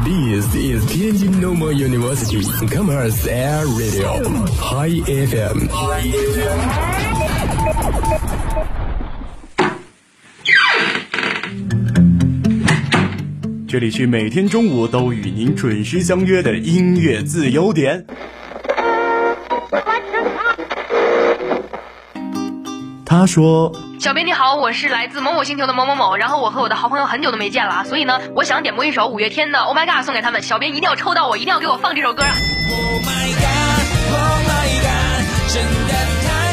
This is Tianjin Normal University Commerce Air Radio High FM。 这里是每天中午都与您准时相约的音乐自由点。他说： 小编你好，我是来自某某星球的某某某，然后我和我的好朋友很久都没见了，所以呢，我想点播一首五月天的 Oh My God 送给他们，小编一定要抽到我，一定要给我放这首歌啊 Oh my God Oh my God 真的太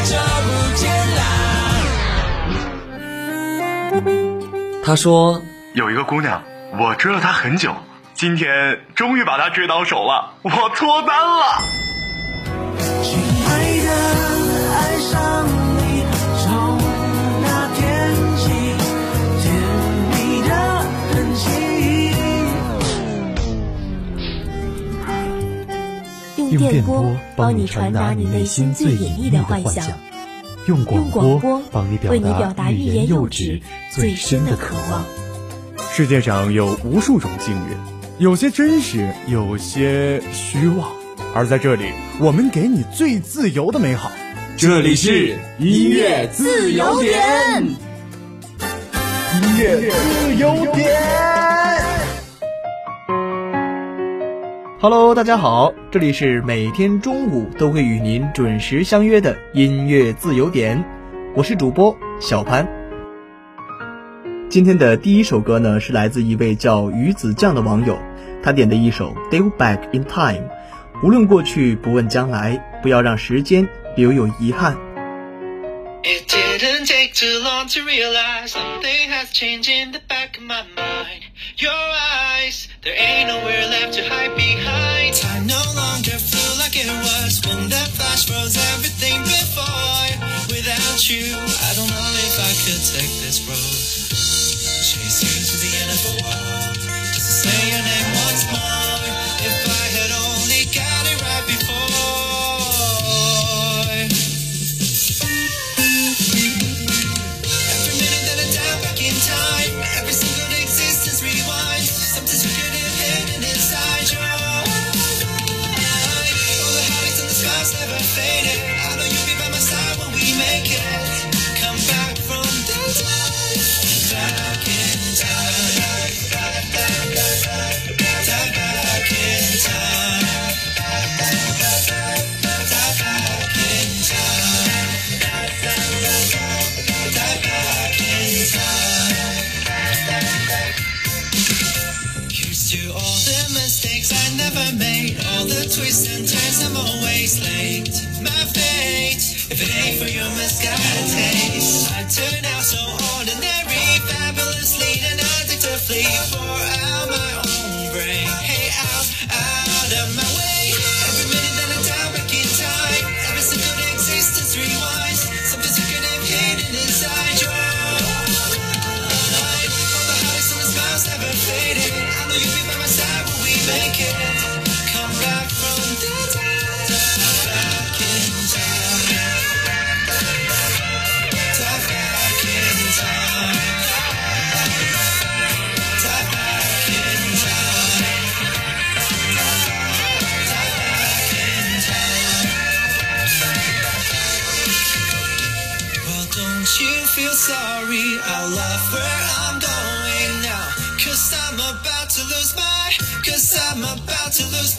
久不见啦。 他说有一个姑娘，我追了她很久，今天终于把她追到手了，我脱单了。 亲爱的，爱上你从那天起，甜蜜的痕迹。 用电波帮你传达你内心最隐秘的幻想，用广播帮你表达欲言又止最深的渴望。 世界上有无数种境遇，有些真实，有些虚妄，而在这里，我们给你最自由的美好。这里是音乐自由点，音乐自由点。 Hello， 大家好，这里是每天中午都会与您准时相约的音乐自由点，我是主播小潘。今天的第一首歌呢，是来自一位叫鱼子酱的网友，他点的一首 Go Back in Time， 无论过去不问将来，不要让时间留有遗憾。 It didn't take too long to realize something has changed in the back of my mind. Your eyes, there ain't nowhere left to hide behind. Time no longer flew like it was when that flash froze everything before. Without you, I don't know if I could take this road. Chase you to the end of the world, just to say your name once more. If I had only got it right before. Every minute that I dive back in time, every single existence rewinds. Something secretive hidden inside your mind. All the heartaches and the scars never faded. I know you'll be by my side when we make it. Come back from the dead. Back in time. Dive back in time. Dive back in time. Dive back in time. Here's to all the mistakes I never made, all the twists and turns I'm always late. My fate, if it ain't for your misguided taste, I turn out so ordinary, fabulously and addictively. Pour out my own brain, hey, out of my way. Every minute that I dive back in time, every single existence rewinds. Something secretive hidden inside your mind. All the heartaches and the smiles never faded. I know you'll be by my side when we make it. Come back from the dead. Back in time. Dive back in time. Dive back in time. Dive back in time. Well, don't you feel sorry? I'll laugh where I'm going now. Cause I'm about to lose my mind. Cause I'm about to lose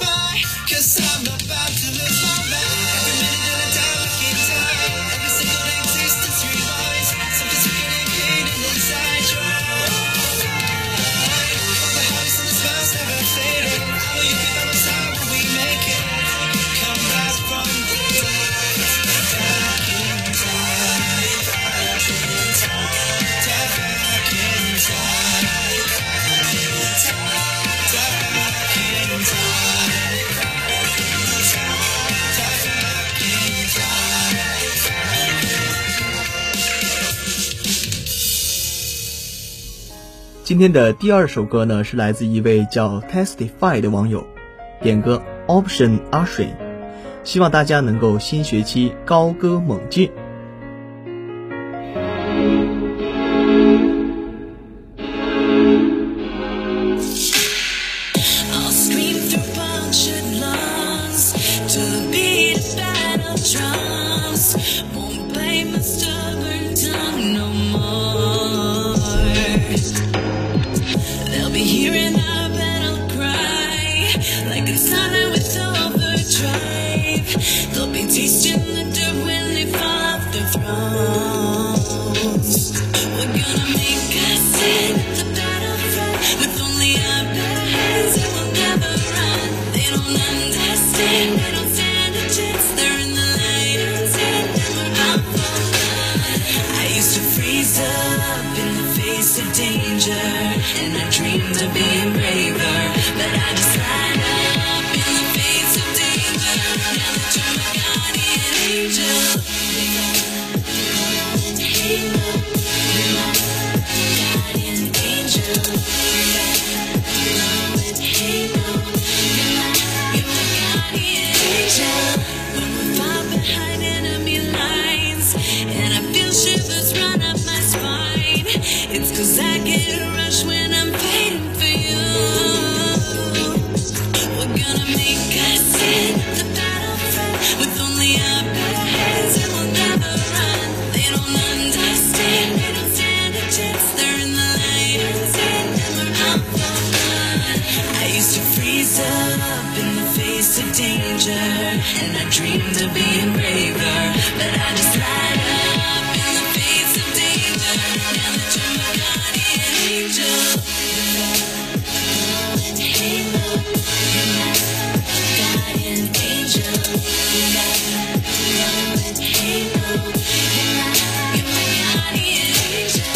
my mind. Every minute that I dive back in time, every single existence rewinds. Something secretive hidden inside your mind. All the heartaches and the smiles never faded. I know you'll be by my side when we make it. Come back from the dead. Back in time. Dive back in time. Dive back in time. Dive back in time. 今天的第二首歌呢，是来自一位叫 Testify 的网友，点歌 Option Usher， 希望大家能够新学期高歌猛进。 All hear an up and I'll cry like a sunlight with overdrive. They'll be tasting the dirt when they fall off their thrones. We're gonna make a scene at the battlefront with only our bare hands and we'll never run. They don't understand, they don't stand a chance. They're in the lion's den and we're out for blood. I used to freeze up in the face of danger, and I dreamed of being braver, but I just light up in the face of danger. Now that you're my guardian angel, halo, you're my guardian angel. Halo, you're my guardian angel. When we're far behind enemy lines, and I feel shivers run up my spine, it's 'cause I get a rush when I'm fighting for you. We're gonna make a scene at the battlefront with only our bare hands and we'll never run. They don't understand, they don't stand a chance. They're in the lion's den and we're out for blood. I used to freeze up in the face of danger, and I dreamed of being braver, but I just light up in the face of danger. Now that you're my guardian angel, halo, you're my guardian angel. Halo, you're my guardian angel.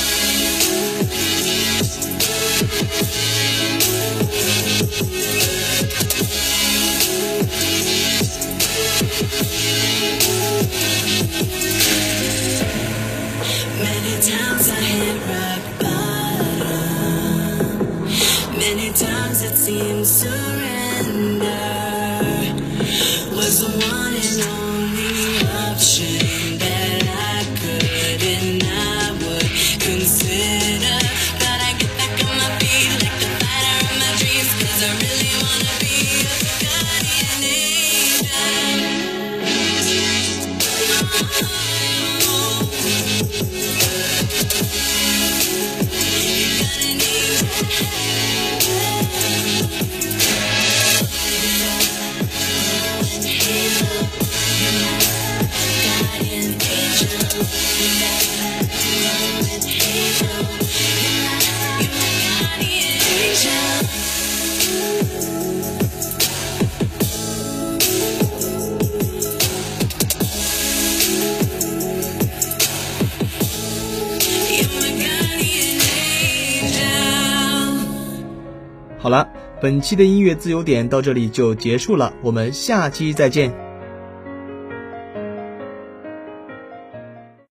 Many times I hit rock bottom. Many times it seemed surrender was the one and only option that I could and I would consider. But I get back on my feet like the fighter of my dreams, 'cause I really wanna be a guardian angel. 好了，本期的音乐自由点到这里就结束了，我们下期再见。